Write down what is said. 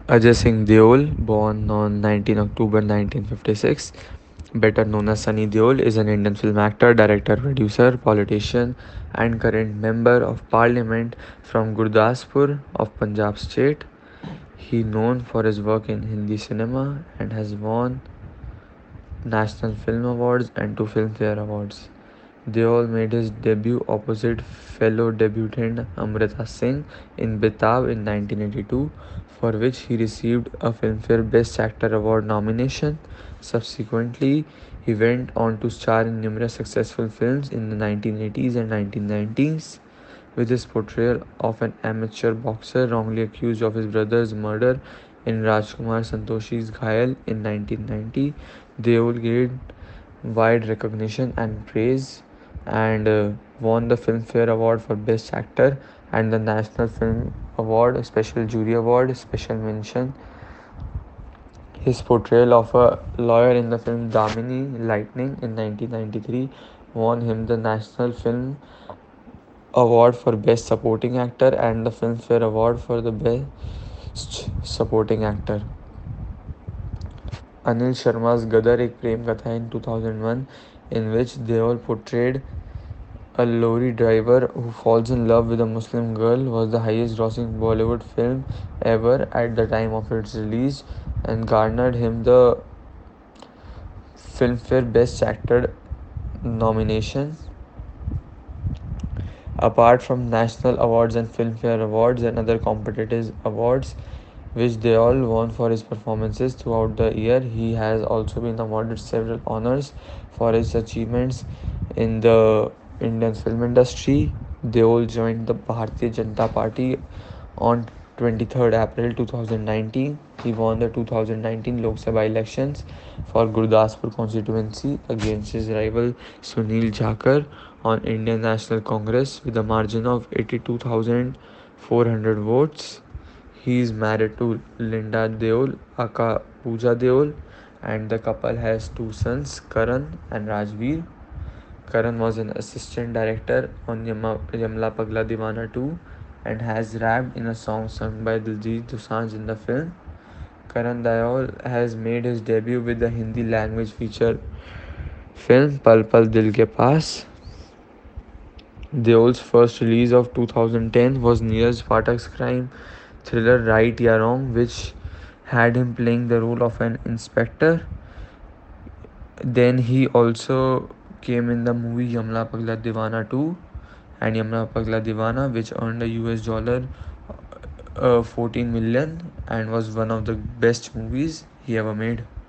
Ajay Singh Deol, born on 19 October 1956, better known as Sunny Deol, is an Indian film actor, director, producer, politician, and current member of parliament from Gurdaspur of Punjab state. He known for his work in Hindi cinema and has won National Film Awards and two Filmfare Awards. Deol made his debut opposite fellow debutant Amrita Singh in Betaab in 1982, for which he received a Filmfare Best Actor Award nomination. Subsequently, he went on to star in numerous successful films in the 1980s and 1990s. With his portrayal of an amateur boxer wrongly accused of his brother's murder in Rajkumar Santoshi's Ghayal in 1990, Deol gained wide recognition and praise and won the Filmfare Award for Best Actor and the National Film Award, Special Jury Award, Special Mention. His portrayal of a lawyer in the film Damini Lightning in 1993 won him the National Film Award for Best Supporting Actor and the Filmfare Award for the Best Supporting Actor. Anil Sharma's Gadar Ek Prem Katha in 2001, in which Deol portrayed a lorry driver who falls in love with a Muslim girl, was the highest grossing Bollywood film ever at the time of its release and garnered him the Filmfare Best Actor nomination. Apart from national awards and Filmfare Awards and other competitive awards, which they all won for his performances throughout the year, he has also been awarded several honors for his achievements in the Indian film industry. Deol joined the Bharatiya Janata Party on 23rd April 2019. He won the 2019 Lok Sabha elections for Gurdaspur constituency against his rival Sunil Jakar on Indian National Congress with a margin of 82,400 votes. He is married to Linda Deol, aka Pooja Deol, and the couple has two sons, Karan and Rajveer. Karan was an assistant director on Yamla Pagla Divana 2 and has rapped in a song sung by Diljit Dosanjh in the film. Karan Deol has made his debut with the Hindi language feature film Pal Pal Dil Ke Paas. Deol's first release of 2010 was Neeraj Phatak's crime thriller Right Ya Wrong, which had him playing the role of an inspector. Then he also came in the movie Yamla Pagla Divana 2 and Yamla Pagla Divana, which earned a US dollar 14 million and was one of the best movies he ever made.